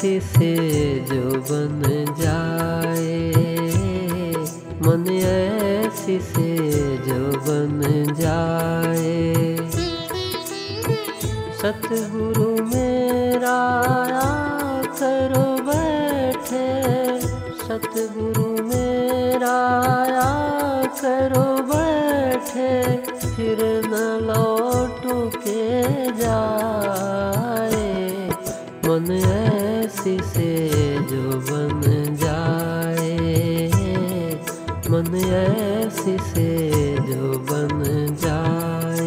ऐसी से जो बन जाए, मन ऐसी से जो बन जाए। सतगुरु मेरा करो बैठे, सतगुरु मेरा करो बैठे, फिर न लौटू के जाए। मन ऐसी से जो बन जाए, मन ऐसी से जो बन जाए।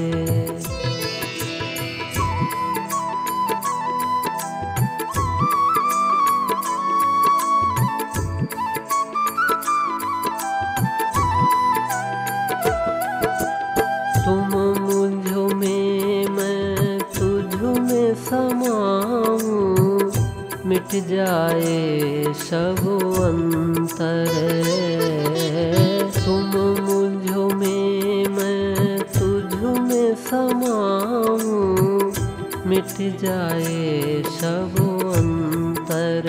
तुम मुझ में मैं तुझ में समाऊं, मिट जाए सब अंतर। तुम मुझ में मैं तुझ में समाऊं, मिट जाए सब अंतर।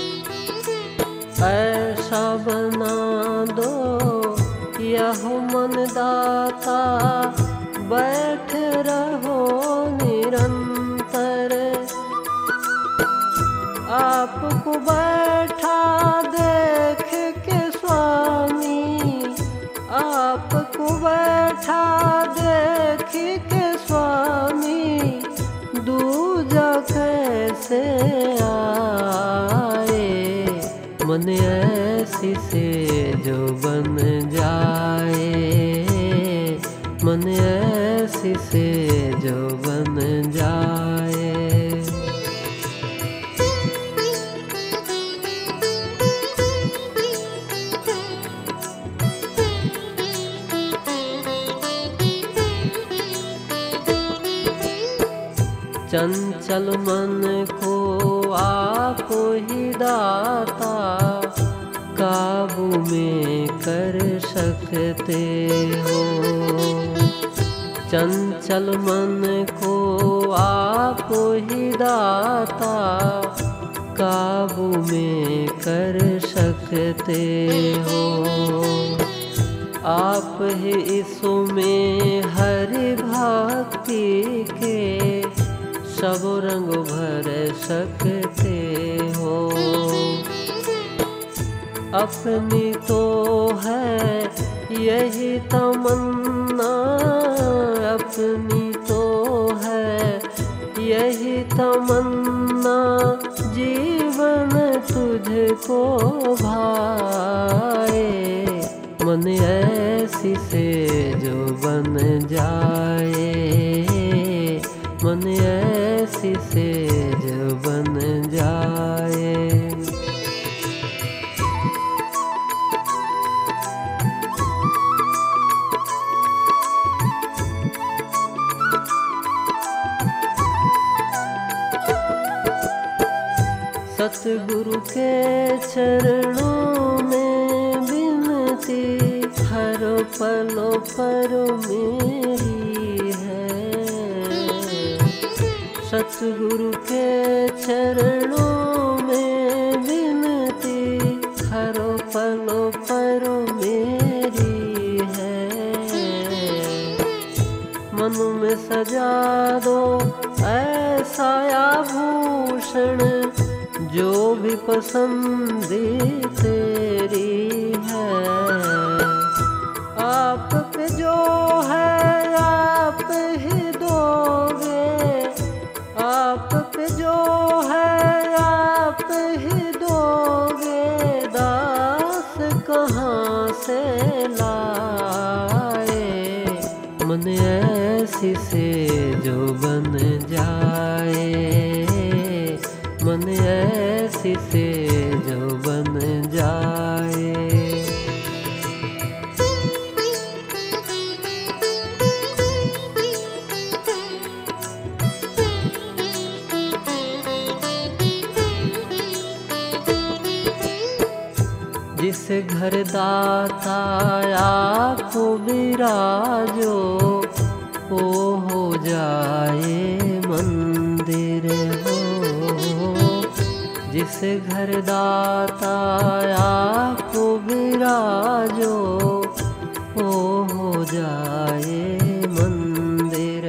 ऐसा बना दो यह मन दाता, बैठ रहो निरंतर। आपको बैठा देख के स्वामी, आपको बैठा देख के स्वामी, दूजा कैसे आए। मन ऐसी से जो बन जाए, मन ऐसी से जो बन जाए। चंचल मन को आप ही दाता, काबू में कर सकते हो। चंचल मन को आप ही दाता, काबू में कर सकते हो। आप ही इसमें हरि भक्ति के सब रंग भर सकते हो। अपनी तो है यही तमन्ना, अपनी तो है यही तमन्ना, जीवन तुझको भाए। मन ऐसी से जो बन जाए, मन ऐसी से जो बन जाए। सतगुरु के चरणों में विनती, हर पलों पर मेरी है। सतगुरु के चरणों में विनती, हर पलों पर मेरी है। मन में सजा दो ऐसा आभूषण, जो भी पसंदी तेरी है। आप पे जो है आप ही दोगे, आप पे जो है आप ही दोगे, दास कहाँ से लाए। मन ऐसी से जो बन जाए, मन ऐसी से जो बन जाए। जिस घर दाता आपको विराजो, वो हो जाए मंदिर हो। जिस जिस घर दाता आपको विराजो वो हो जाए मंदिर।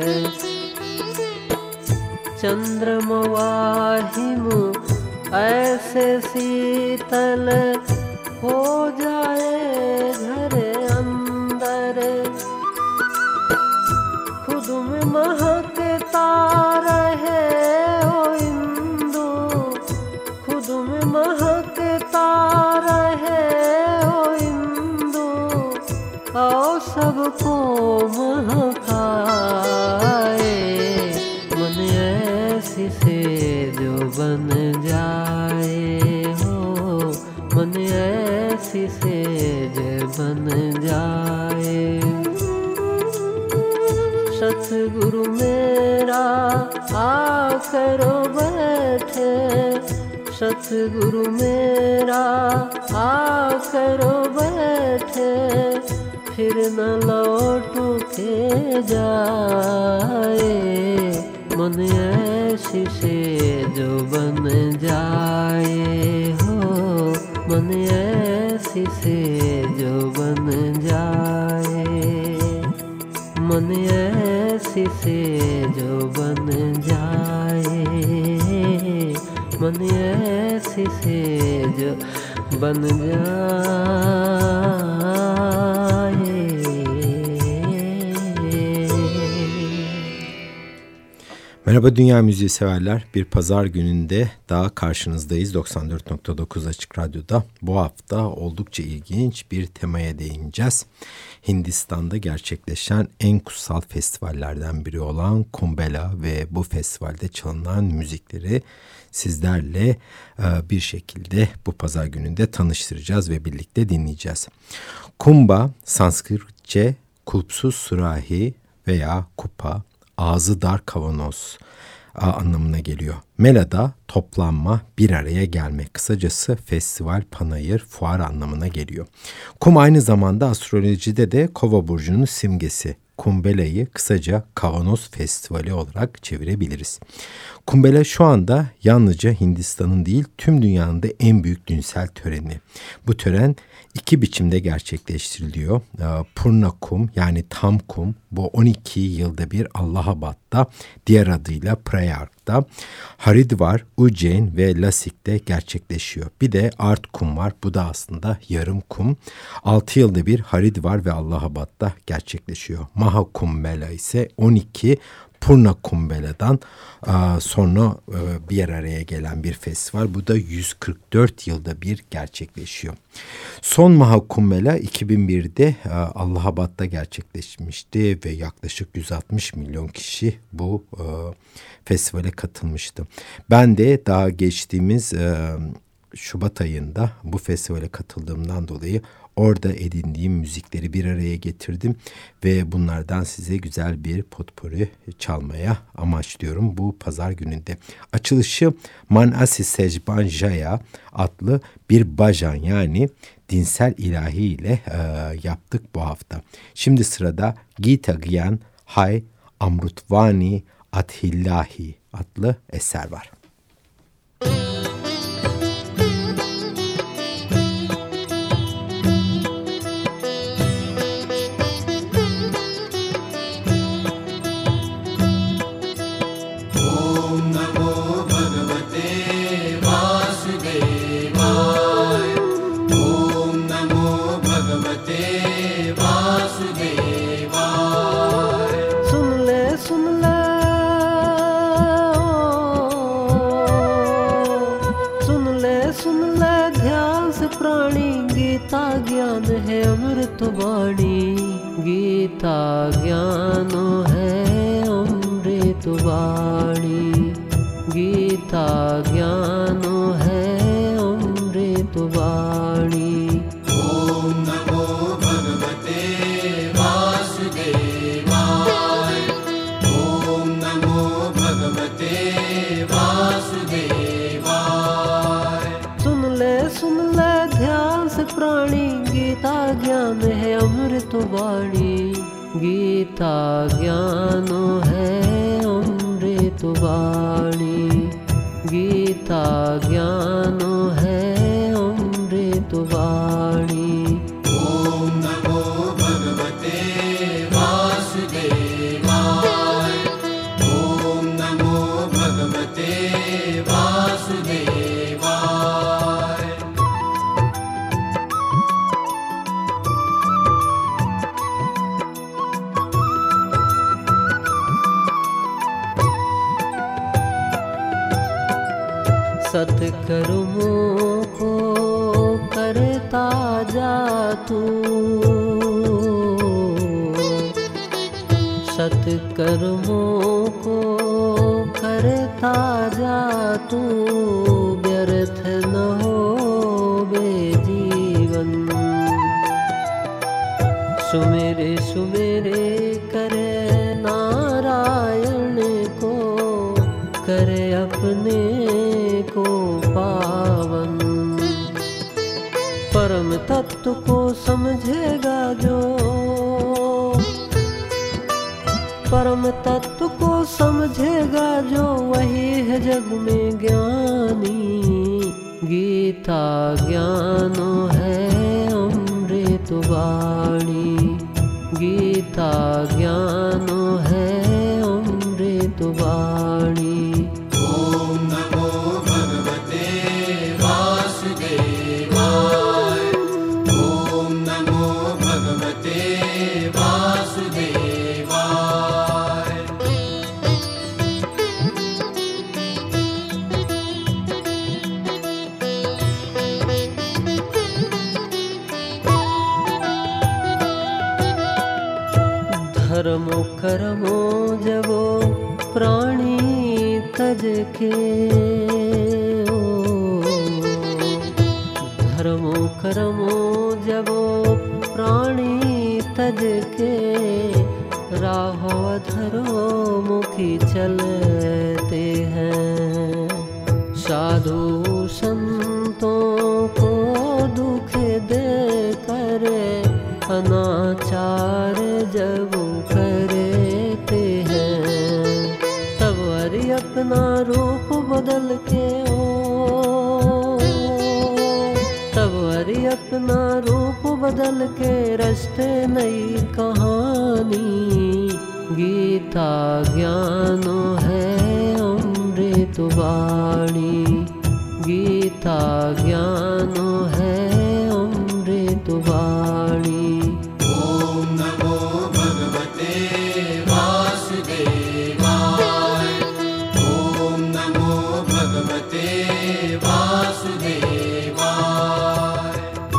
चंद्रमवाहिमु ऐसे शीतल हो जाए घर अंदर। खुद में महकता रहे ओ इंदु, खुद में महकता रहे ओ इंदु, और सबको महकाए। मन ऐसी से जो बन जाए हो, मन ऐसी से जो बन जाए। सतगुरु मेरा आकर बैठे, सतगुरु मेरा आकर बैठे, फिर न लौट के जाए। मन ऐसी से जो बन जाए हो, मन ऐसी से जो बन जाए। मन ऐसी से जो बन जाए, मन ऐसी से जो बन जाए। Merhaba dünya müziği severler. Bir pazar gününde daha karşınızdayız 94.9 Açık Radyo'da. Bu hafta oldukça ilginç bir temaya değineceğiz. Hindistan'da gerçekleşen en kutsal festivallerden biri olan Kumbhmela ve bu festivalde çalınan müzikleri sizlerle bir şekilde bu pazar gününde tanıştıracağız ve birlikte dinleyeceğiz. Kumbha, Sanskritçe kulpsuz sürahi veya kupa, ağzı dar kavanoz anlamına geliyor. Mela da toplanma, bir araya gelme. Kısacası festival, panayır, fuar anlamına geliyor. Kum aynı zamanda astrolojide de Kova burcunun simgesi. Kumbhela'yı kısaca Kavanoz Festivali olarak çevirebiliriz. Kumbhmela şu anda yalnızca Hindistan'ın değil tüm dünyanın da en büyük dinsel töreni. Bu tören iki biçimde gerçekleştiriliyor. Purna kum yani tam kum bu 12 yılda bir Allahabad'da, diğer adıyla Prayag'da, Haridwar, Ujjain ve Nasik'te gerçekleşiyor. Bir de Art kum var, bu da aslında yarım kum. 6 yılda bir Haridwar ve Allahabad'da gerçekleşiyor. Maha Kumbhmela ise 12 Purna Kumbhela'dan sonra bir araya gelen bir festival. Bu da 144 yılda bir gerçekleşiyor. Son Maha Kumbhmela 2001'de Allahabad'da gerçekleşmişti ve yaklaşık 160 milyon kişi bu festivale katılmıştı. Ben de daha geçtiğimiz Şubat ayında bu festivale katıldığımdan dolayı orada edindiğim müzikleri bir araya getirdim ve bunlardan size güzel bir potpourri çalmaya amaçlıyorum bu pazar gününde. Açılışı Manasi Sejban Jaya adlı bir bajan yani dinsel ilahi ile yaptık bu hafta. Şimdi sırada Gita Gyan Hay Amrutvani Adhillahi adlı eser var. ज्ञान है अमृत वाणी, गीता ज्ञान है अमृत वाणी, गीता ज्ञान है अमृत वाणी। ओम नमो भगवते वासुदेवाय, ओम नमो भगवते वासुदेवाय। सुन ले ध्यान से प्राणी, गीता ज्ञान है अमृत वाणी, गीता ज्ञान है अमृत वाणी, गीता ज्ञान है अमृत वाणी। ॐ नमो भगवते वासुदेवाय। ॐ नमो भगवते वासुदेवाय। सत्कर्मों को करता जा तू, सत्कर्मों को करता जा तू, व्यर्थ न हो बे जीवन। सुमेरे सुमेरे करे नारायण को, करे अपने को पावन। परम तत्व को समझेगा जो, परम तत्व को समझेगा जो, वही है जग में ज्ञानी। गीता ज्ञान है अमृत वाणी। गीता ज्ञान है अमृत वाणी। ॐ नमो भगवते वासुदेवाय। ॐ नमो भगवते वासुदेवाय। धर्मो कर्मो जबो प्राणी तज के, धर्मो कर्मो जबो प्राणी तज के, राहो अधरो मुखी चलते हैं। साधु संतों को दुख दे कर अनाचार जब करते हैं, तब हरि अपना रूप बदल के तब हरि अपना रूप बदल के रचते नई कहानी। गीता ज्ञान है अमृत वाणी। गीता ज्ञान है अमृत वाणी। ॐ नमो भगवते वासुदेवाय। ॐ नमो भगवते वासुदेवाय।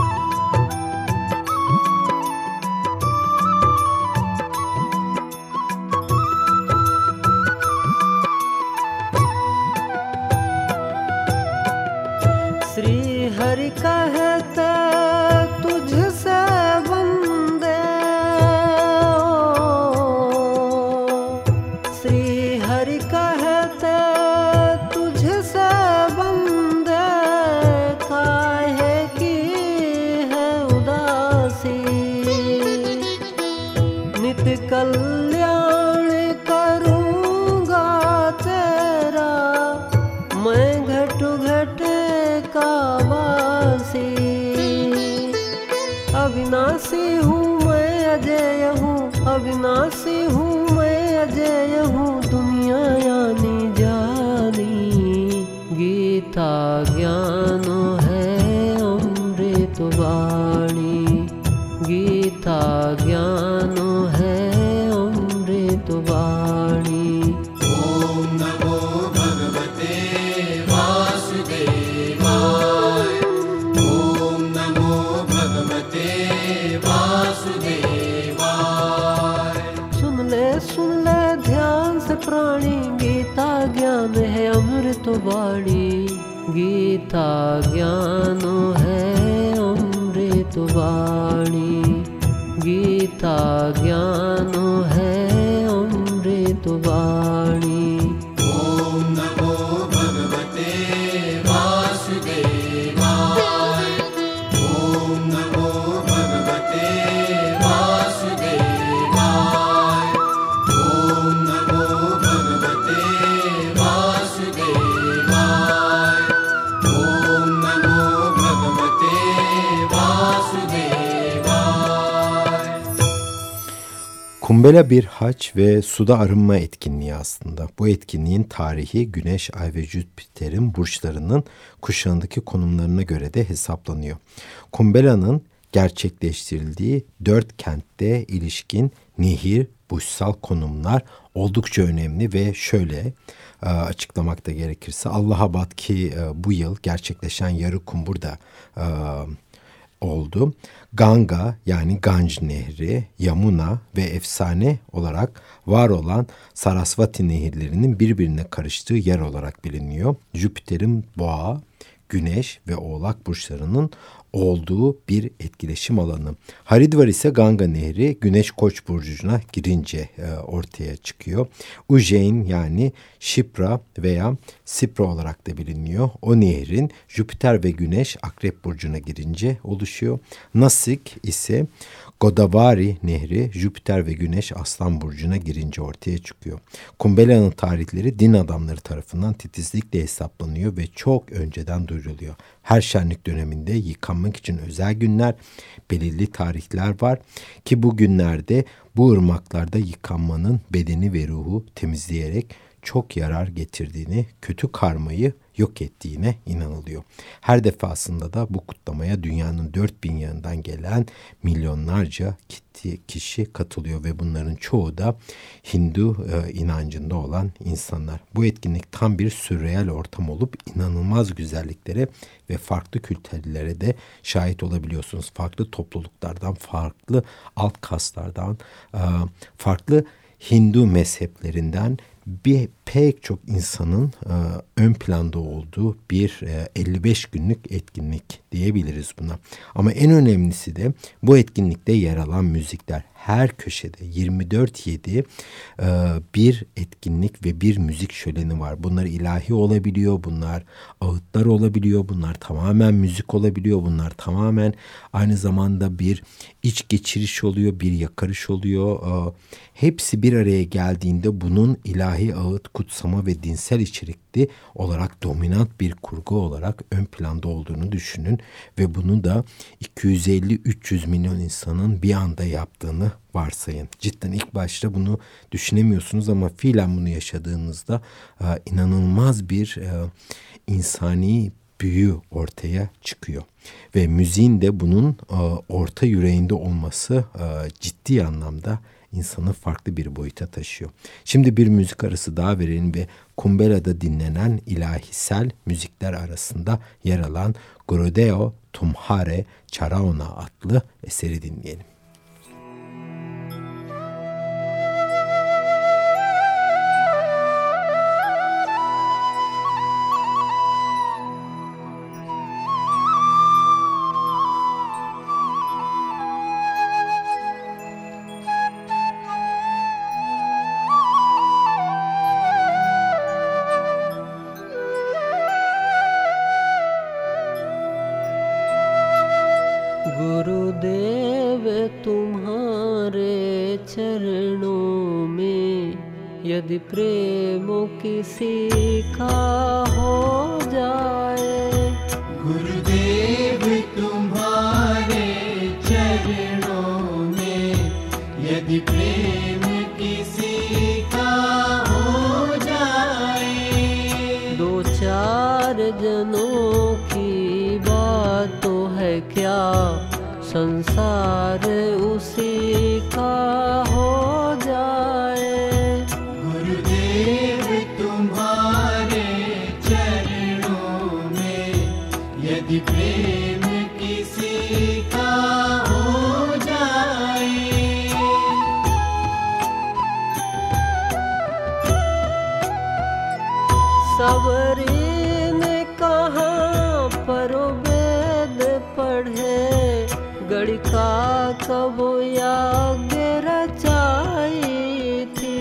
श्री हरि कहते तुझसे वंदे, श्री हरि कहते तुझसे वंदे, काहे की है उदासी। नित कल्याण करूँगा तेरा, मैं घट घट का वासी। अविनाशी हूँ मैं अजय हूँ, अविनाशी हूँ मैं अजय हूँ, दुनिया यानी जानी। गीता ज्ञान है अमृत वाणी। गीता ज्ञान है अमृत वाणी। ॐ नमो भगवते वासुदेवाय। ॐ नमो भगवते वासुदेवाय। सुन ले ध्यान से प्राणी, गीता ज्ञान है अमृत वाणी। गीता ज्ञान है अमृत वाणी। गीता ज्ञान है अमृत वाणी। ॐ नमो भगवते वासुदेवाय। ॐ नमो भगवते वासुदेवाय। ॐ नमो भगवते वासुदेवाय। Kumbela bir haç ve suda arınma etkinliği aslında. Bu etkinliğin tarihi Güneş, Ay ve Jüpiter'in burçlarının kuşağındaki konumlarına göre de hesaplanıyor. Kumbela'nın gerçekleştirildiği 4 kentte ilişkin nehir, burçsal konumlar oldukça önemli ve şöyle açıklamak da gerekirse Allahabad ki bu yıl gerçekleşen yarı kumbur da oldu. Ganga yani Ganj Nehri, Yamuna ve efsane olarak var olan Sarasvati nehirlerinin birbirine karıştığı yer olarak biliniyor. Jüpiter'in Boğa, Güneş ve Oğlak burçlarının olduğu bir etkileşim alanı. Haridvar ise Ganga Nehri Güneş Koç burcuna girince ortaya çıkıyor. Ujjain yani Shipra veya Sipra olarak da biliniyor. O nehrin Jüpiter ve Güneş Akrep burcuna girince oluşuyor. Nasik ise Godavari Nehri Jüpiter ve Güneş Aslan burcuna girince ortaya çıkıyor. Kumbela'nın tarihleri din adamları tarafından titizlikle hesaplanıyor ve çok önceden duyuruluyor. Her şenlik döneminde yıkanmak için özel günler, belirli tarihler var ki bu günlerde bu ırmaklarda yıkanmanın bedeni ve ruhu temizleyerek çok yarar getirdiğini, kötü karmayı yok ettiğine inanılıyor. Her defasında da bu kutlamaya dünyanın 4000 yanından gelen milyonlarca kişi katılıyor ve bunların çoğu da Hindu inancında olan insanlar. Bu etkinlik tam bir sürreel ortam olup inanılmaz güzelliklere ve farklı kültürlere de şahit olabiliyorsunuz. Farklı topluluklardan, farklı alt kaslardan, farklı Hindu mezheplerinden pek çok insanın ön planda olduğu bir 55 günlük etkinlik diyebiliriz buna. Ama en önemlisi de bu etkinlikte yer alan müzikler. Her köşede 24/7 bir etkinlik ve bir müzik şöleni var. Bunlar ilahi olabiliyor, bunlar ağıtlar olabiliyor, bunlar tamamen müzik olabiliyor, bunlar tamamen aynı zamanda bir iç geçiriş oluyor, bir yakarış oluyor. Hepsi bir araya geldiğinde bunun ilahi ağıt, kutsama ve dinsel içerikli olarak dominant bir kurgu olarak ön planda olduğunu düşünün ve bunu da 250-300 milyon insanın bir anda yaptığını varsayın. Cidden ilk başta bunu düşünemiyorsunuz ama fiilen bunu yaşadığınızda inanılmaz bir insani büyü ortaya çıkıyor. Ve müziğin de bunun orta yüreğinde olması ciddi anlamda insanı farklı bir boyuta taşıyor. Şimdi bir müzik arası daha verelim ve Kumbela'da dinlenen ilahisel müzikler arasında yer alan Gurudeo Tumhare Charaona adlı eseri dinleyelim. गुरुदेव तुम्हारे चरणों में यदि प्रेम किसी का हो जाए, गुरुदेव तुम्हारे चरणों में यदि प्रेम किसी का हो जाए, दो चार जनों की बात तो है क्या, संसार उसी का हो जाए। गुरुदेव तुम्हारे चरणों में यदि प्रेम किसी का हो जाए, सबरी ने कहाँ पर वेद पढ़े, गणिका कब याज्ञ रचाई थी,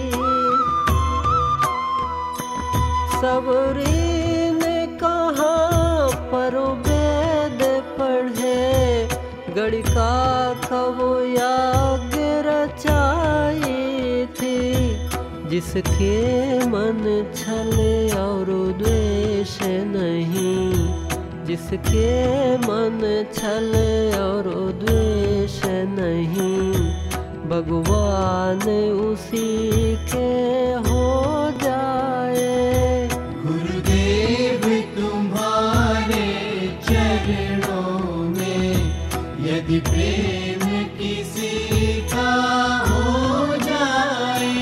सबरी ने कहाँ पर वेद पढ़े, गणिका कब याज्ञ रचाई थी, जिसके मन छल और द्वेष नहीं, जिसके मन छल और द्वेष नहीं, भगवान उसी के हो जाए। गुरुदेव तुम्हारे चरणों में यदि प्रेम किसी का हो जाए।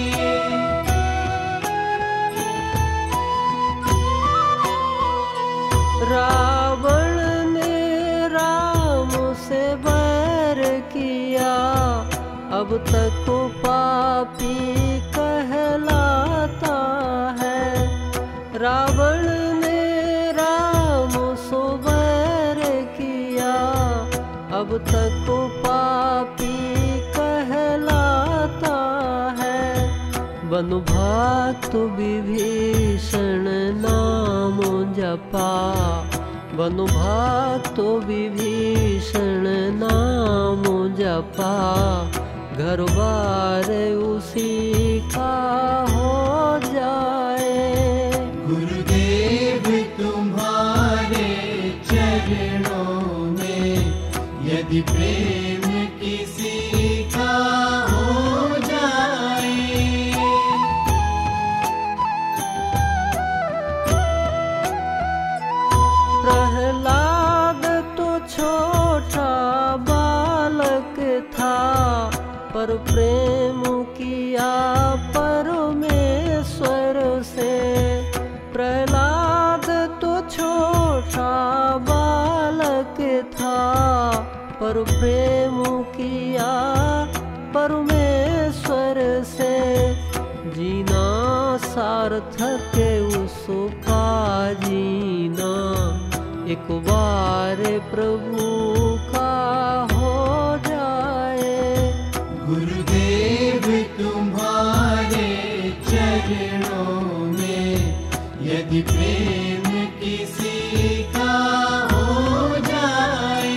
रावण ने राम से बैर किया, अब तक वो पापी कहलाता है। रावण ने राम से बैर किया, अब तक वो पापी कहलाता है। वनभक्त विभीषण नाम जपा, वनभक्त विभीषण नाम जपा, घर बार उसी का हो जाए। गुरुदेव तुम्हारे चरणों में यदि प्रेम किसी का हो जाए। प्रहलाद तो छोटा बालक था, पर प्रेम किया परमेश्वर से। प्रहलाद तो छोटा बालक था, पर प्रेम किया परमेश्वर से। जीना सार्थक उसका जीना, एक बार प्रभु का हो जाए। गुरुदेव तुम्हारे चरणों में यदि प्रेम किसी का हो जाए।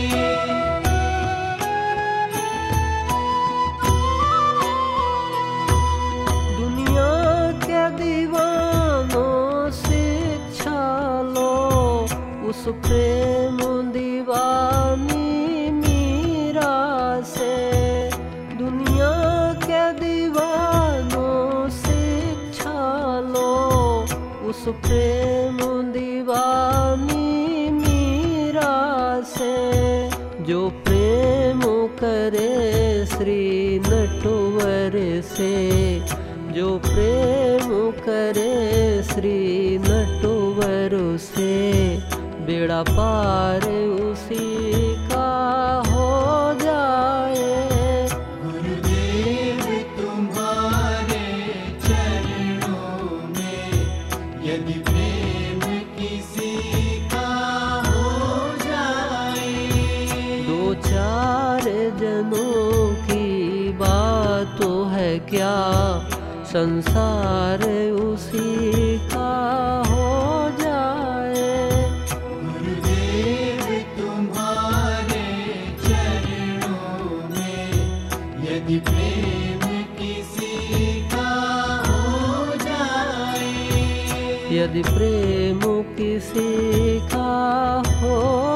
दुनिया के दीवानों शिक्षा लो, उस प्रेम दीवानी मीरा से। दुनिया के दीवानों शिक्षा लो, उस प्रेम दीवानी मीरा से। जो प्रेम करे श्री नटवर से, जो प्रेम करे श्री नटवर से, बेड़ा पार उसी का हो जाए। गुरुदेव तुम्हारे चरणों में यदि प्रेम किसी का हो जाए। दो चार जनों की बात तो है क्या, संसार उसी का हो जाए। गुरुदेव तुम्हारे चरणों में यदि प्रेम किसी का हो जाए। यदि प्रेम किसी का हो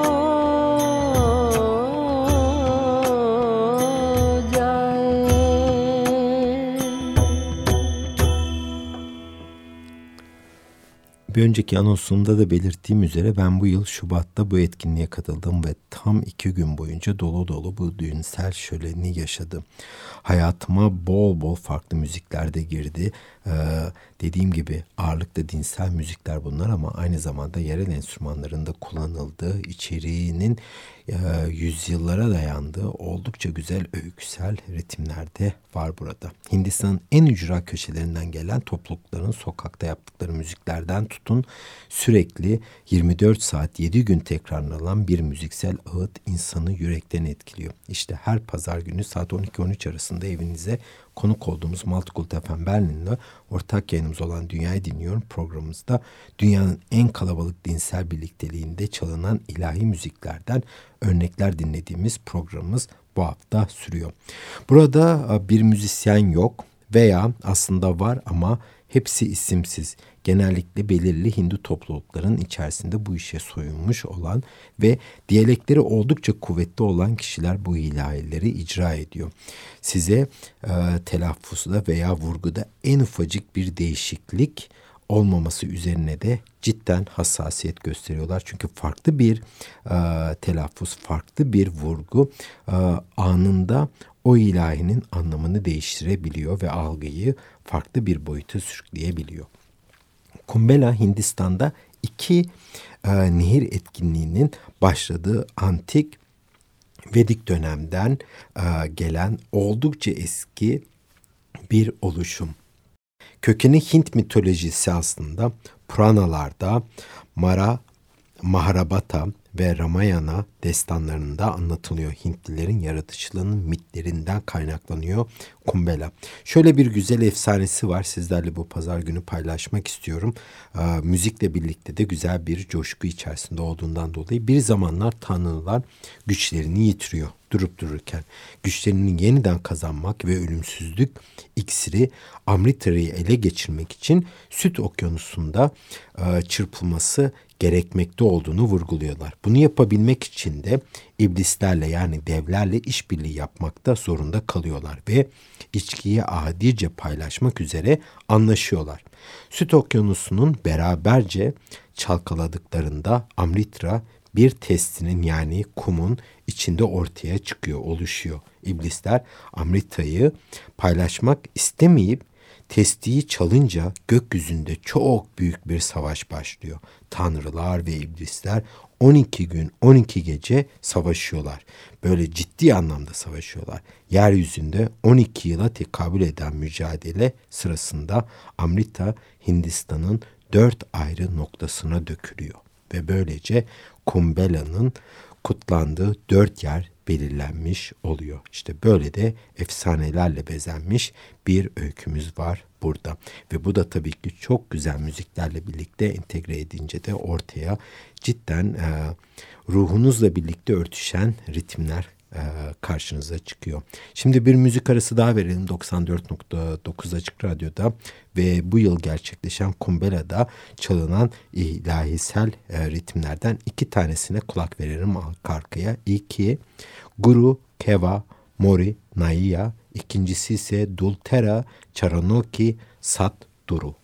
Bir önceki anonsumda da belirttiğim üzere ben bu yıl Şubat'ta bu etkinliğe katıldım ve tam 2 gün boyunca dolu dolu bu düğünsel şöleni yaşadım. Hayatıma bol bol farklı müzikler de girdi. Dediğim gibi ağırlıklı dinsel müzikler bunlar ama aynı zamanda yerel enstrümanların da kullanıldığı, içeriğinin yüzyıllara dayandığı oldukça güzel öyküsel ritimler de var burada. Hindistan'ın en ücra köşelerinden gelen toplulukların sokakta yaptıkları müziklerden tutun sürekli 24 saat 7 gün tekrarlanan bir müziksel ağıt insanı yürekten etkiliyor. İşte her pazar günü saat 12-13 arasında evinize konuk olduğumuz Multicult FM Berlin'le ortak yayınımız olan Dünyayı Dinliyorum programımızda dünyanın en kalabalık dinsel birlikteliğinde çalınan ilahi müziklerden örnekler dinlediğimiz programımız bu hafta sürüyor. Burada bir müzisyen yok veya aslında var ama Hepsi isimsiz. Genellikle belirli Hindu toplulukların içerisinde bu işe soyunmuş olan ve diyalekleri oldukça kuvvetli olan kişiler bu ilahileri icra ediyor. Size telaffuzda veya vurguda en ufacık bir değişiklik olmaması üzerine de cidden hassasiyet gösteriyorlar. Çünkü farklı bir telaffuz, farklı bir vurgu anında o ilahinin anlamını değiştirebiliyor ve algıyı farklı bir boyuta sürükleyebiliyor. Kumbela Hindistan'da iki nehir etkinliğinin başladığı antik Vedik dönemden gelen oldukça eski bir oluşum. Kökeni Hint mitolojisi aslında Puranalarda Mahabharata ve Ramayana destanlarında anlatılıyor. Hintlilerin yaratıcılığının mitlerinden kaynaklanıyor Kumbela. Şöyle bir güzel efsanesi var. Sizlerle bu pazar günü paylaşmak istiyorum. Müzikle birlikte de güzel bir coşku içerisinde olduğundan dolayı bir zamanlar tanrılar güçlerini yitiriyor durup dururken. Güçlerini yeniden kazanmak ve ölümsüzlük iksiri Amrita'yı ele geçirmek için Süt Okyanusu'nda çırpılması gerekmekte olduğunu vurguluyorlar. Bunu yapabilmek için de iblislerle yani devlerle işbirliği yapmakta zorunda kalıyorlar ve içkiyi adice paylaşmak üzere anlaşıyorlar. Süt Okyanusu'nun beraberce çalkaladıklarında Amrita bir testinin yani kumun içinde ortaya çıkıyor, oluşuyor. İblisler Amrita'yı paylaşmak istemeyip testiyi çalınca gökyüzünde çok büyük bir savaş başlıyor. Tanrılar ve iblisler 12 gün 12 gece savaşıyorlar. Böyle ciddi anlamda savaşıyorlar. Yeryüzünde 12 yıla tekabül eden mücadele sırasında Amrita Hindistan'ın 4 ayrı noktasına dökülüyor. Ve böylece Kumbela'nın kutlandığı 4 yer belirlenmiş oluyor. İşte böyle de efsanelerle bezenmiş bir öykümüz var burada. Ve bu da tabii ki çok güzel müziklerle birlikte entegre edince de ortaya cidden ruhunuzla birlikte örtüşen ritimler karşınıza çıkıyor. Şimdi bir müzik arası daha verelim 94.9 Açık Radyo'da ve bu yıl gerçekleşen Kumbela'da çalınan ilahisel ritimlerden 2 tanesine kulak verelim arka arkaya. İlki Guru Keva Mori Naiya, ikincisi ise Dultera Charanoki Sat Duru.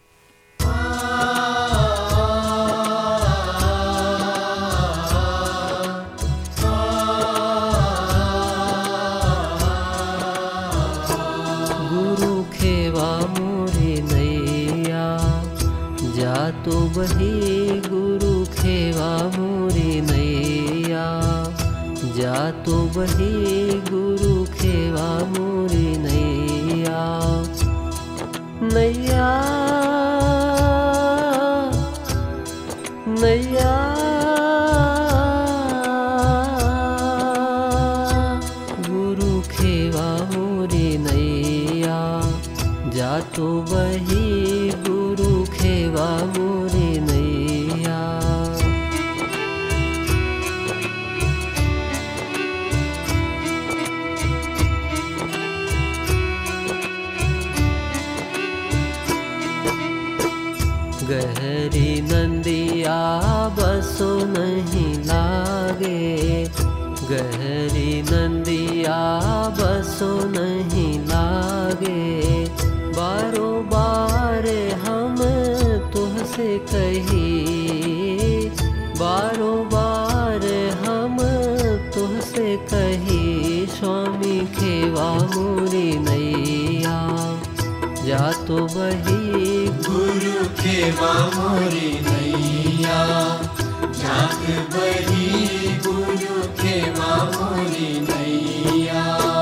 तो बही गुरु खेवा मोरी नैया जा तो बही गुरु खेवा मोरी नैया नैया नैया गुरु खेवा मोरी नैया जा तो बही गुरु खेवा मोरी नैया गहरी नंदिया बसो नहीं लागे गहरी नंदिया बसो नहीं लागे बारो बार हम तुझसे कही बारो बार हम तुझसे कही स्वामी खेवा मोरी नैया जा तो बही गुरु खेवा मोरी नैया जात बही गुरु खेवा मोरी नैया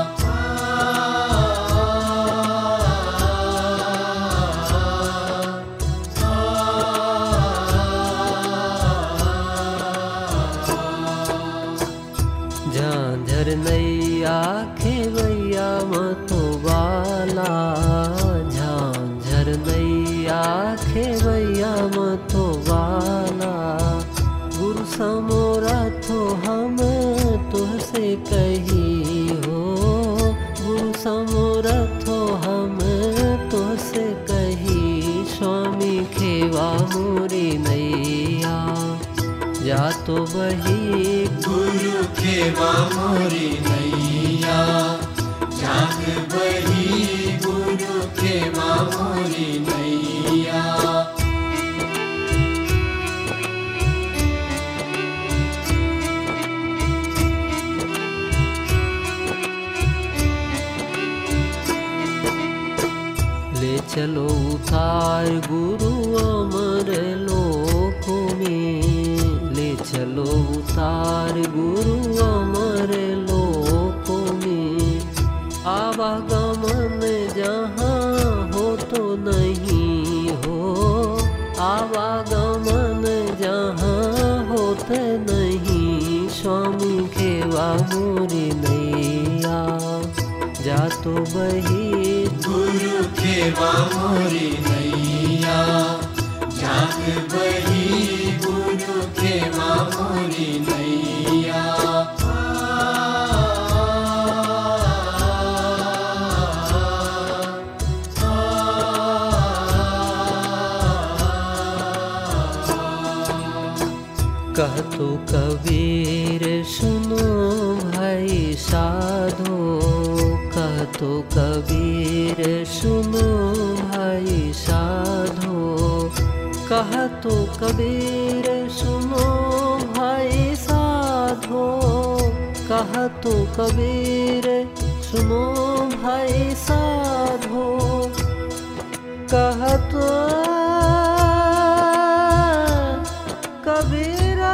झांझर नैया खेवैया मतो वाला झांझर नैया खेवैया मतो वाला गुरु समोरा थो हम तुझसे कही हो गुरु समोरा थो हम तुझसे कही जातो बही गुरु खेवा मोरी नैया, जाग बही गुरु खेवा मोरी नैया। ले चलो उतार गुरु अमर लोकों में, ले चलो उतार गुरु अमर लोकों में। आवागमन जहाँ हो तो नहीं हो, आवागमन जहाँ होते नहीं। स्वामी खेवा मोरी नैया, जातो बही गुरु खेवा मोरी नैया, जाग बही गुरु खेवा मोरी नैया। कहतो कबीर सुनो भाई साधो, कहतो कबीर सुनो भाई साधो। कहतो कबीर सुनो भाई साधो, कहतो कबीर सुनो भाई साधो। कहतो कबीरा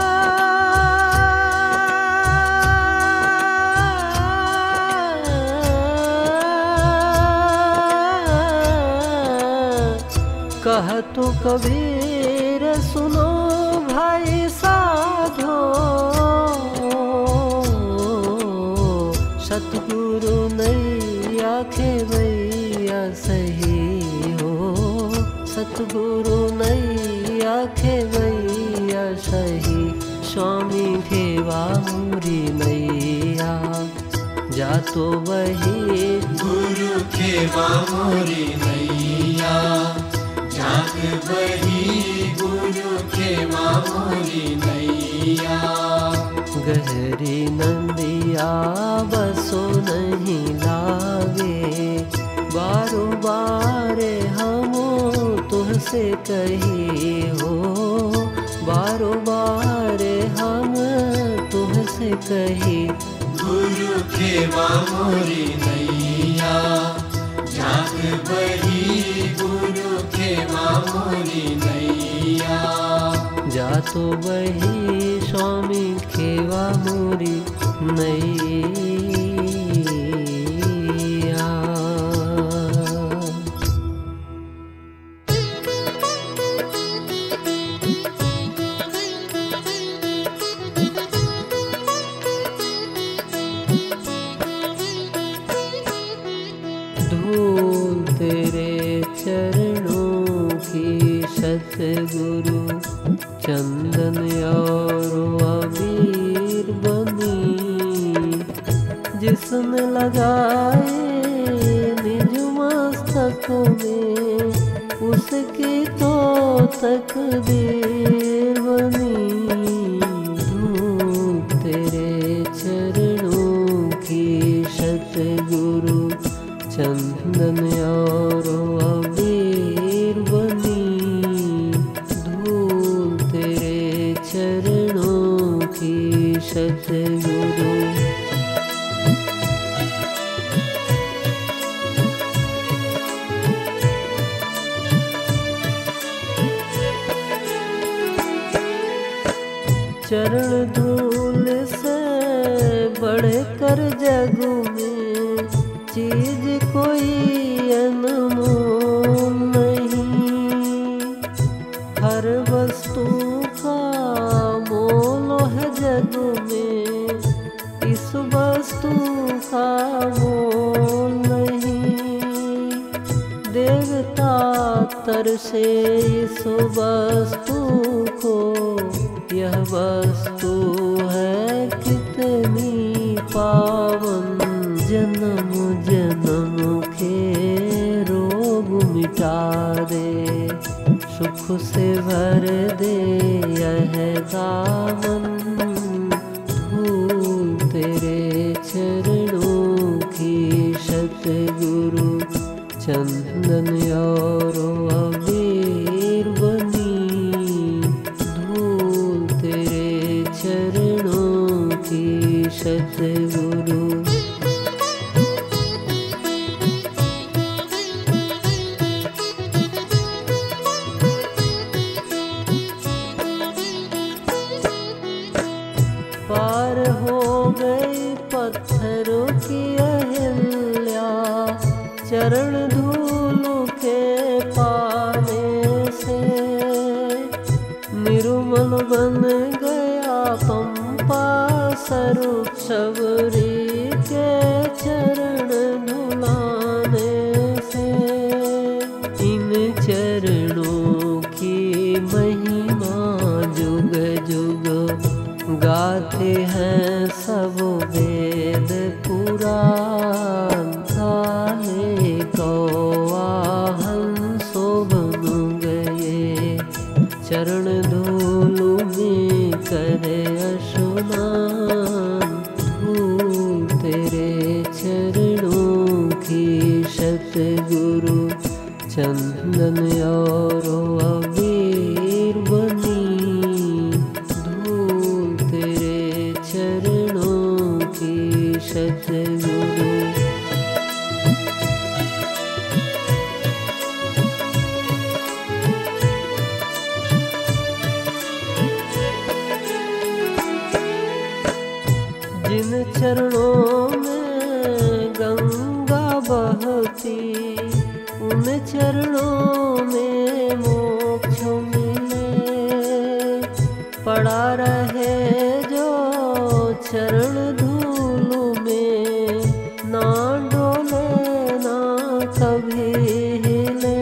कहतो कबीर सुनो भाई साधो। सतगुरु नैया खेवैया सही हो, सतगुरु नैया खेवैया सही। स्वामी खेवा मोरी नैया, जातो बही गुरु खेवा मोरी नैया, जाग बही गुरु खेवा मोरी नैया। गहरी नंदिया बसो नहीं लागे, बारो बारे हम तुझसे कही हो, बारो बारे हम तुझसे कही। गुरु खेवा मोरी नैया, जाग बही गुरु खेवा मोरी नैया। जातो बही स्वामी खेवा मोरी नैया। धूल तेरे चरणों की सतगुरु, चंदन और अबीर बनी। जिसने लगाए निज मस्तक में, उसकी तो तकदीर बनी। धूल तेरे चरणों की सतगुरु, चंदन और अबीर बनी। धूल तेरे चरणों की सतगुरु। चरण धूल से बढ़कर जग में चीज कोई अनमोल नहीं। हर वस्तु का मोल है जग में, इस वस्तु का मोल नहीं। देवता तरसे इस वस्तु को, यह वस्तु है कितनी पावन। जन्म जन्म के रोग मिटा दे, सुख से भर दे यह दामन, धूल तेरे चरणों की सतगुरु चंदन और अबीर बनी, धूल तेरे चरणों की सतगुरु। पार हो गई पत्थरों की अहिल्या, चरण धूल के पाने से, निर्मल बन गया पंपा स्वरूप शबरी के चरण धुलाने से। इन चरणों की महिमा जुग जुग गाते हैं सब वेद पुराण, काले कौआ हंसो बन गए चरण धूल में करे स्नान, धूल तेरे चरणों की सतगुरु चंदन और अबीर बनी, धूल तेरे चरणों की सतगुरु। जिन चरणों में गंगा बहती, उन चरणों में मोक्ष मिले, पड़ा रहे जो चरण धूल में, ना डोले ना कभी हिले,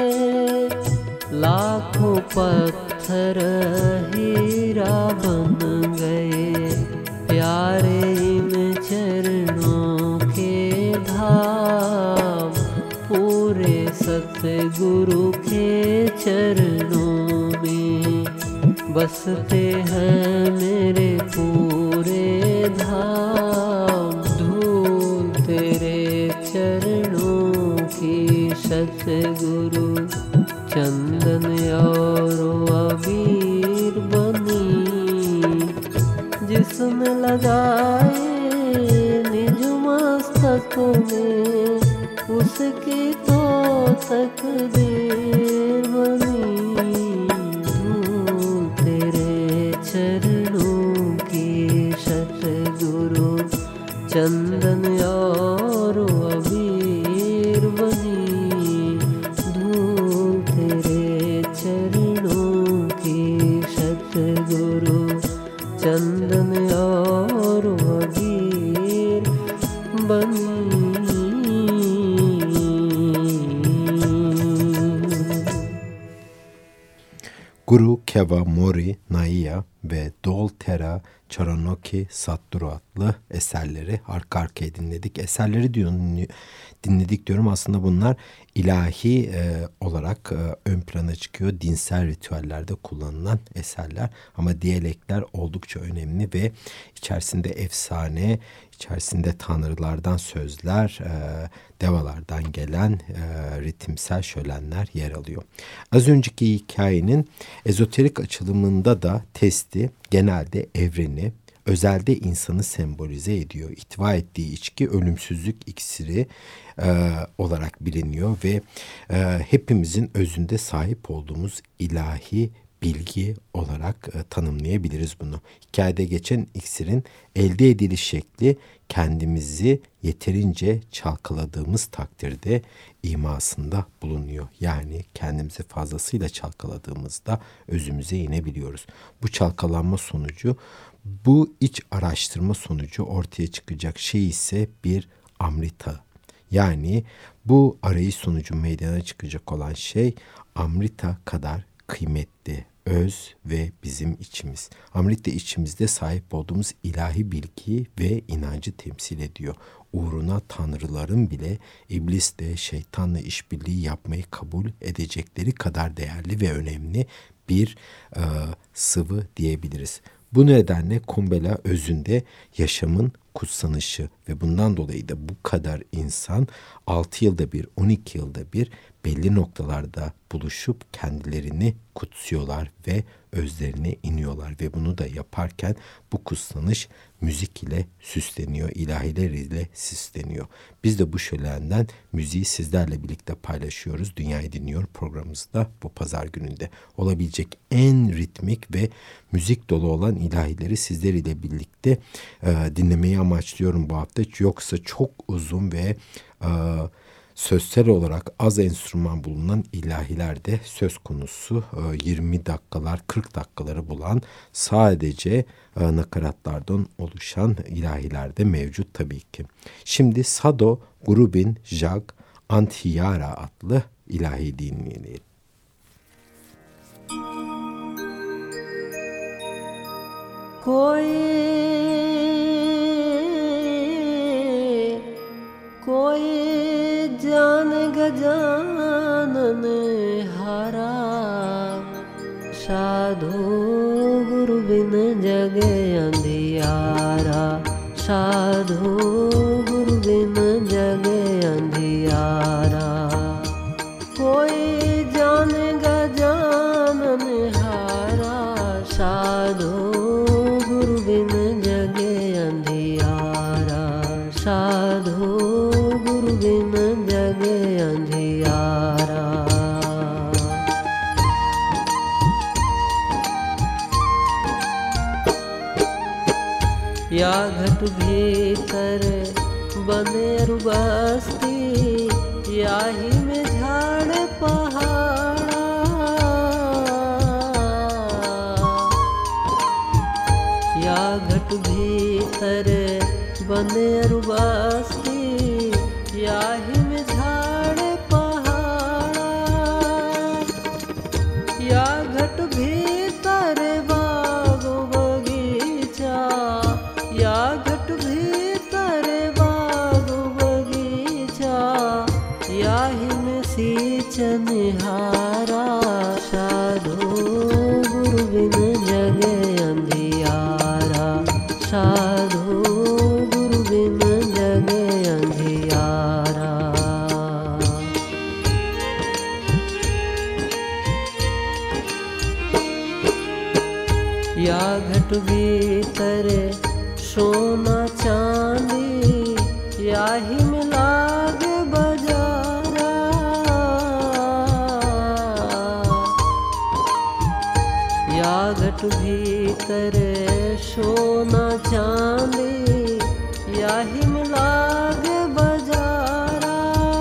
लाखों पत्थर हीरा बन गए प्यारे इन चरणों के धाम, पूरे सतगुरु के चरणों में बसते हैं मेरे पूरे धाम, धूल तेरे चरणों की सतगुरु चंदन और अबीर बनी, जिसने लगाए निज मस्तक में, उसकी तो तकदीर बनी, धूल तेरे चरणों की सतगुरु चंदन और अबीर बनी, धूल तेरे चरणों की सतगुरु चंदन और अबीर बनी। Guru Keva Mori Naiya ve Doltera Charanoki Satguru adlı eserleri arka arkaya dinledik. Eserleri dinledik diyorum. Aslında bunlar ilahi olarak ön plana çıkıyor. Dinsel ritüellerde kullanılan eserler. Ama diyalekler oldukça önemli ve içerisinde efsane, içerisinde tanrılardan sözler, devalardan gelen ritimsel şölenler yer alıyor. Az önceki hikayenin ezoterik açılımında da testi genelde evreni, özelde insanı sembolize ediyor. İhtiva ettiği içki ölümsüzlük iksiri olarak biliniyor ve hepimizin özünde sahip olduğumuz ilahi bilgi olarak tanımlayabiliriz bunu. Hikayede geçen iksirin elde ediliş şekli kendimizi yeterince çalkaladığımız takdirde imasında bulunuyor. Yani kendimizi fazlasıyla çalkaladığımızda özümüze inebiliyoruz. Bu çalkalanma sonucu, bu iç araştırma sonucu ortaya çıkacak şey ise bir amrita. Yani bu arayış sonucu meydana çıkacak olan şey amrita kadar kıymetli, öz ve bizim içimiz. Amrit de içimizde sahip olduğumuz ilahi bilgi ve inancı temsil ediyor. Uğruna tanrıların bile iblisle, şeytanla işbirliği yapmayı kabul edecekleri kadar değerli ve önemli bir sıvı diyebiliriz. Bu nedenle Kumbela özünde yaşamın kutsanışı ve bundan dolayı da bu kadar insan 6 yılda bir, 12 yılda bir belli noktalarda buluşup kendilerini kutsuyorlar ve özlerine iniyorlar ve bunu da yaparken bu kutsanış müzik ile süsleniyor, ilahiler ile süsleniyor. Biz de bu şölenden müziği sizlerle birlikte paylaşıyoruz. Dünyayı Dinliyor programımızda bu pazar gününde. Olabilecek en ritmik ve müzik dolu olan ilahileri sizler ile birlikte dinlemeyi amaçlıyorum bu hafta. Yoksa çok uzun ve sözsel olarak az enstrüman bulunan ilahilerde söz konusu 20 dakikalar 40 dakikaları bulan sadece nakaratlardan oluşan ilahiler de mevcut tabii ki. Şimdi Sado Gurubin Jag Antiyara adlı ilahi dinleyelim. कोई जान गजानन हारा साधु गुरु बिन जगे अंधियारा साधु गुरु बिन जगे अंधियारा कोई जान गजानन हारा साधु गुरु बिन जगे अंधियारा साधु गुरु बिन जगे अंधियारा या घट भीतर बने बस्ती या ही में झाड़ पहाड़ा या घट भीतर बने बस्ती या ही में झाड़ पहाड़ा या घट भीतर बाग बगीचा या घट भीतर बाग बगीचा या ही में सींचन हारा साधु गुरु बिन जगे अंधियारा साधु गुरु बिन जगे अंधियारा या घट भीतर सोना चांदी या ही में लाग बजारा या घट भीतर सोना चांदी या ही में लाग बजारा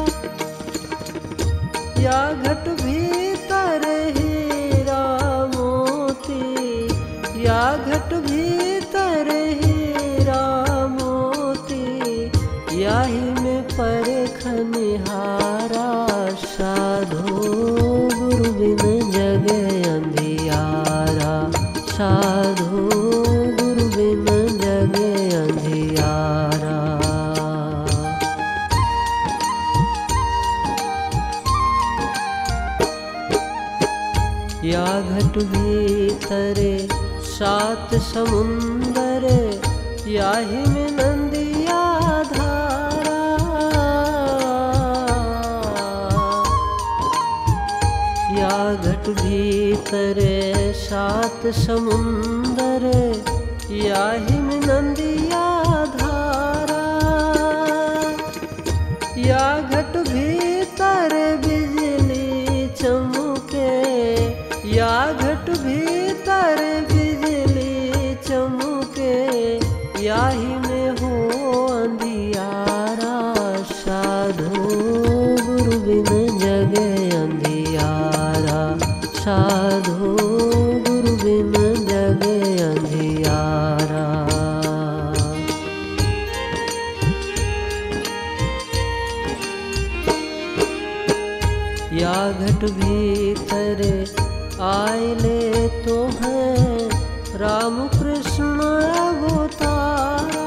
या घट भीतर हीरा मोती या घट भीतर हीरा मोती या ही में परखनिहारा साधु गुरु बिन जगे अंधियारा साधु गुरु बिन जगे अंधियारा या घट भीतर 7 समुंदर या ही में नंदिया धारा या घट भीतर 7 समुंदर या ही में नंदिया धारा या घट भीतर बिजली चमके या घट भीतर बिजली चमके या ही में हो अंधियारा साधु गुरु बिन जगे अंधियारा साधु गुरु बिन जगे अंधियारा या घट भीतर आइले तो है राम कृष्ण अवतारा।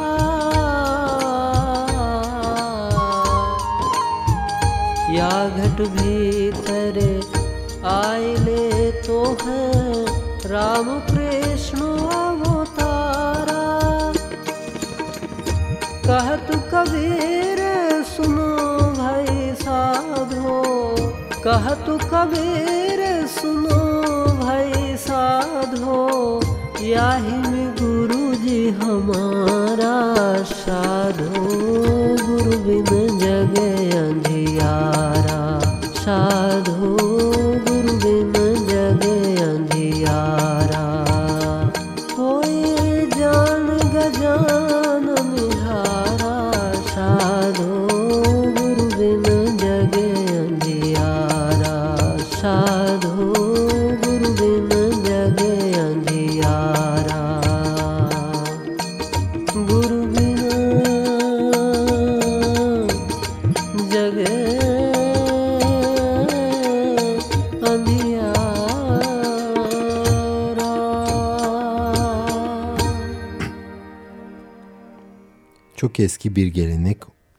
या घट भीतर आइले तो है राम कृष्ण अवतारा। कहत कबीर सुनो भाई साधो, कहत कबीर सुनो भाई साधो, याहि में गुरु जी हमारा साधो। गुरु बिन जगे अंधियारा, साधो गुरु बिन जगे अंधियारा। कोई जान गजान निहारा, साधो गुरु बिन जगे अंधियारा, साधो गुरु बिन जगे अंधियारा। गुरु बिन जगे Çok eski bir gelenek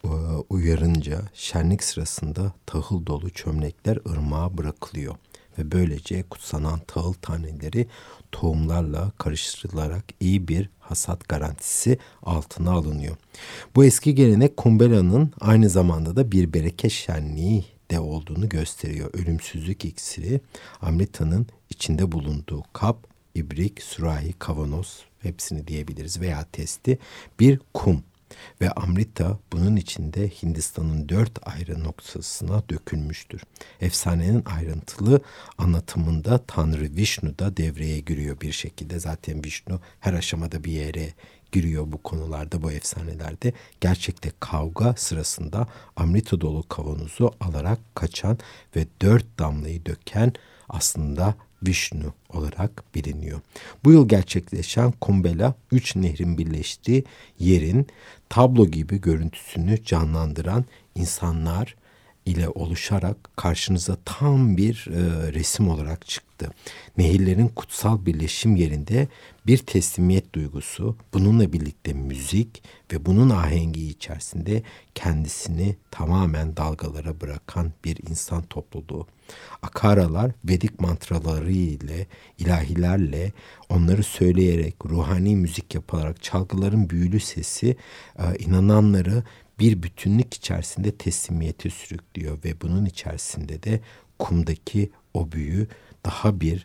uyarınca şenlik sırasında tahıl dolu çömlekler ırmağa bırakılıyor ve böylece kutsanan tahıl taneleri tohumlarla karıştırılarak iyi bir hasat garantisi altına alınıyor. Bu eski gelenek Kumbela'nın aynı zamanda da bir bereket şenliği de olduğunu gösteriyor. Ölümsüzlük iksiri, Amrita'nın içinde bulunduğu kap, ibrik, sürahi, kavanoz hepsini diyebiliriz veya testi bir kum. Ve Amrita bunun içinde Hindistan'ın 4 ayrı noktasına dökülmüştür. Efsanenin ayrıntılı anlatımında Tanrı Vishnu da devreye giriyor bir şekilde. Zaten Vishnu her aşamada bir yere giriyor bu konularda, bu efsanelerde. Gerçekte kavga sırasında Amrita dolu kavanozu alarak kaçan ve 4 damlayı döken aslında Vishnu olarak biliniyor. Bu yıl gerçekleşen Kumbela 3 nehrin birleştiği yerin tablo gibi görüntüsünü canlandıran insanlar ile oluşarak karşınıza tam bir resim olarak çıktı. Nehirlerin kutsal birleşim yerinde bir teslimiyet duygusu, bununla birlikte müzik ve bunun ahengi içerisinde kendisini tamamen dalgalara bırakan bir insan topluluğu. Akaralar Vedik mantraları ile, ilahilerle, onları söyleyerek, ruhani müzik yaparak çalgıların büyülü sesi inananları bir bütünlük içerisinde teslimiyete sürüklüyor ve bunun içerisinde de kumdaki o büyü daha bir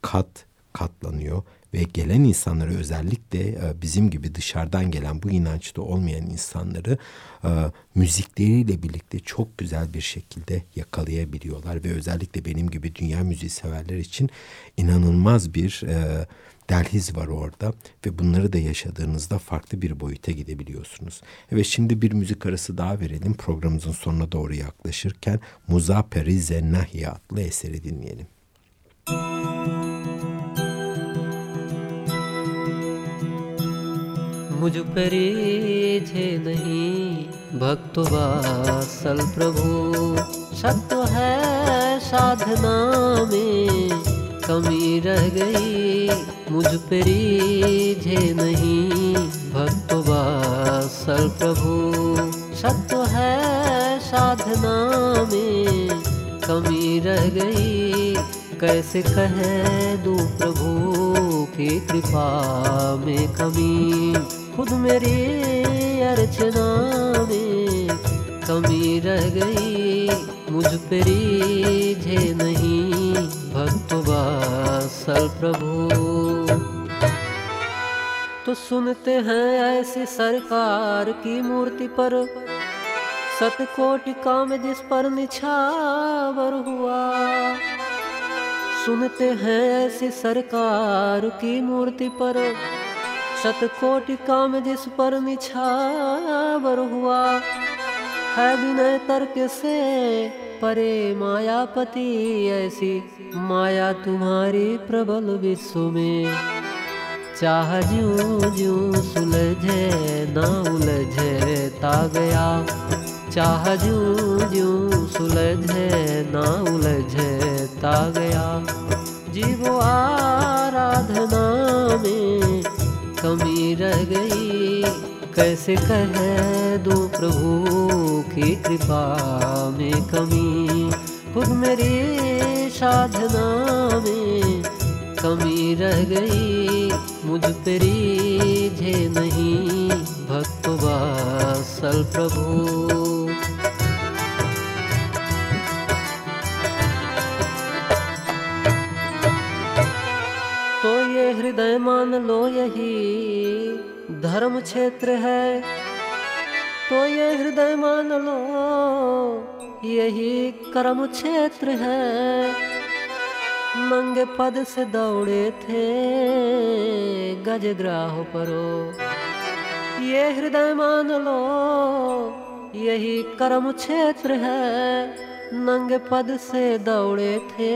katlanıyor ve gelen insanları, özellikle bizim gibi dışarıdan gelen, bu inançta olmayan insanları müzikleriyle birlikte çok güzel bir şekilde yakalayabiliyorlar ve özellikle benim gibi dünya müziği severler için inanılmaz bir delhiz var orada ve bunları da yaşadığınızda farklı bir boyuta gidebiliyorsunuz. Evet, şimdi bir müzik arası daha verelim. Programımızın sonuna doğru yaklaşırken Muzaffer-i Nahiye adlı eseri dinleyelim. मुझ पर रीझे नहीं भक्तो वात्सल प्रभु, सत्य है साधना में कमी रह गई। मुझ पर रीझे नहीं भक्तो वात्सल प्रभु, सत्य है साधना में कमी रह गई। कैसे कह दूं प्रभु की कृपा में कमी, खुद मेरी अर्चना में कमी रह गई। मुझ पे रीझे नहीं भक्त वात्सल प्रभु। तो सुनते हैं ऐसी सरकार की मूर्ति पर, सतकोटि काम जिस पर निछावर हुआ। सुनते हैं ऐसी सरकार की मूर्ति पर, शतकोटि काम जिस पर निछावर हुआ। है विनय तर्क से परे मायापति, ऐसी माया तुम्हारी प्रबल विश्व में। चाह ज्यों ज्यों सुलझे ना उलझता गया, चाह ज्यों ज्यों सुलझे ना उलझता गया। जीव आराधना में कमी रह गई। कैसे कह दूं प्रभु की कृपा में कमी, खुद मेरी साधना में कमी रह गई। मुझ पे रीझे नहीं भक्त वात्सल प्रभु। तो ये हृदय मान लो यही धर्म क्षेत्र है, तो ये हृदय मान लो यही कर्म क्षेत्र है। नंगे पद से दौड़े थे गजग्राह परो, ये हृदय मान लो यही कर्म क्षेत्र है। नंगे पद से दौड़े थे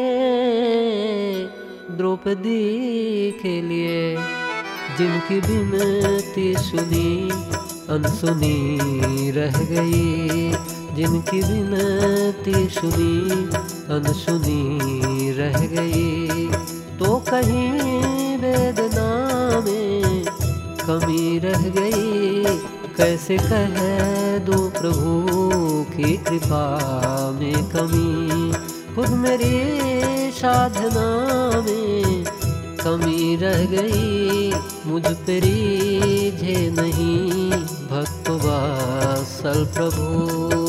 द्रौपदी के लिए, जिनकी बिनती सुनी अनसुनी रह गई। जिनकी बिनती सुनी अनसुनी रह गई। तो कहीं वेदना में कमी रह गई। कैसे कह दूं प्रभु की कृपा में कमी, खुद मेरी साधना में कमी रह गई। मुझ पे रीझे नहीं भक्त वात्सल प्रभु।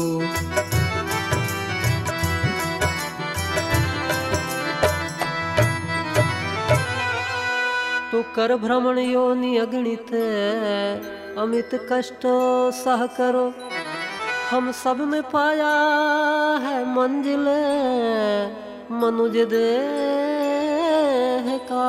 तो कर भ्रमण योनि अगणित अमित कष्ट सह करो। हम सब में पाया है मंजिल मनुज देह का।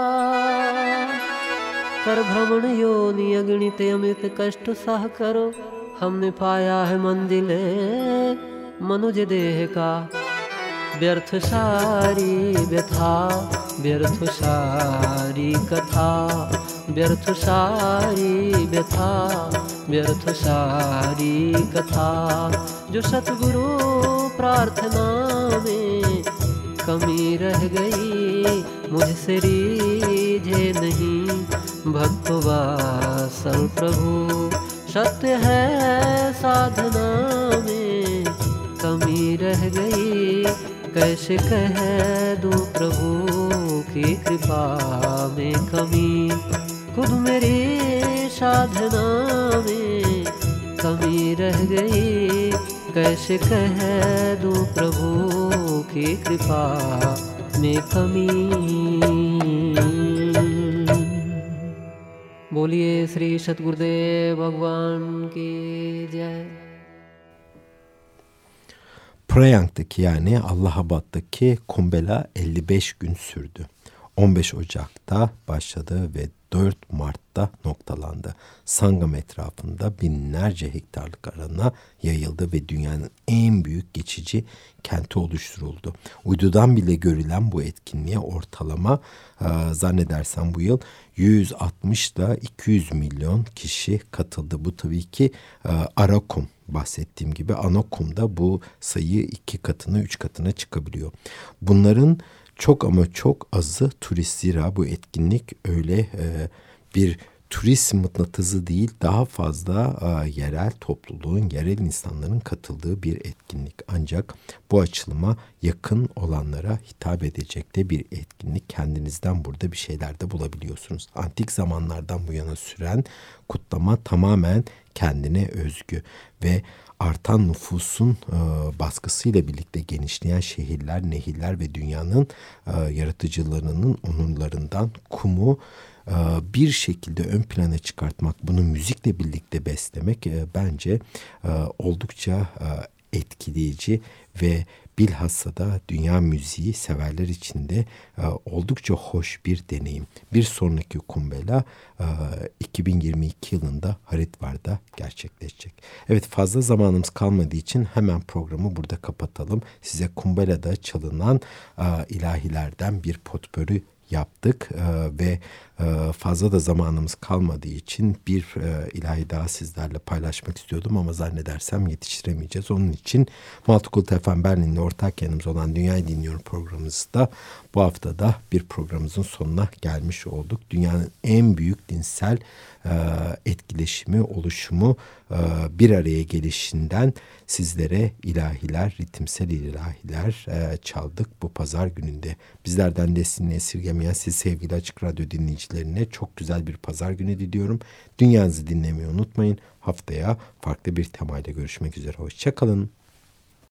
कर भ्रमण योनि अगणित अमित कष्ट सह करो। हमने पाया है मंजिल मनुज देह का। व्यर्थ सारी व्यथा व्यर्थ सारी कथा, व्यर्थ सारी व्यथा व्यर्थ सारी कथा। जो सतगुरु प्रार्थना में कमी रह गई। मुझसे रीझे नहीं भक्त वात्सल प्रभु। सत्य है साधना में कमी रह गई। कैसे कह दूं प्रभु की कृपा में कमी, खुद मेरी साधना में कमी रह गई। कैसे कह दूं प्रभु की कृपा में कमी। बोलिए श्री सतगुरुदेव भगवान की जय। Prayang'daki yani Allahabad'daki Kumbela 55 gün sürdü. 15 Ocak'ta başladı ve 4 Mart'ta noktalandı. Sangam etrafında binlerce hektarlık alana yayıldı ve dünyanın en büyük geçici kenti oluşturuldu. Uydudan bile görülen bu etkinliğe ortalama zannedersem bu yıl 160 ile 200 milyon kişi katıldı. Bu tabii ki Arakum. Bahsettiğim gibi Anakum'da bu sayı 2 katına 3 katına çıkabiliyor. Bunların çok ama çok azı turist, zira bu etkinlik öyle bir turist mıknatısı değil, daha fazla yerel topluluğun, yerel insanların katıldığı bir etkinlik. Ancak bu açılıma yakın olanlara hitap edecek de bir etkinlik. Kendinizden burada bir şeyler de bulabiliyorsunuz. Antik zamanlardan bu yana süren kutlama tamamen kendine özgü ve artan nüfusun baskısıyla birlikte genişleyen şehirler, nehirler ve dünyanın yaratıcılarının onurlarından kumu bir şekilde ön plana çıkartmak, bunu müzikle birlikte beslemek bence oldukça etkileyici ve bilhassa da dünya müziği severler için de oldukça hoş bir deneyim. Bir sonraki Kumbela 2022 yılında Haridvar'da gerçekleşecek. Evet, fazla zamanımız kalmadığı için hemen programı burada kapatalım. Size Kumbela'da çalınan ilahilerden bir potpöri yaptık ve fazla da zamanımız kalmadığı için bir ilahi daha sizlerle paylaşmak istiyordum ama zannedersem yetiştiremeyeceğiz. Onun için Multicult FM Berlin'le ortak yanımız olan Dünyayı Dinliyorum programımızda bu hafta da bir programımızın sonuna gelmiş olduk. Dünyanın en büyük dinsel etkileşimi, oluşumu, bir araya gelişinden sizlere ilahiler, ritimsel ilahiler çaldık bu pazar gününde. Bizlerden desteğini esirgemeyen siz sevgili Açık Radyo dinleyicilerine çok güzel bir pazar günü diliyorum. Dünyanızı dinlemeyi unutmayın. Haftaya farklı bir temayla görüşmek üzere. Hoşça kalın.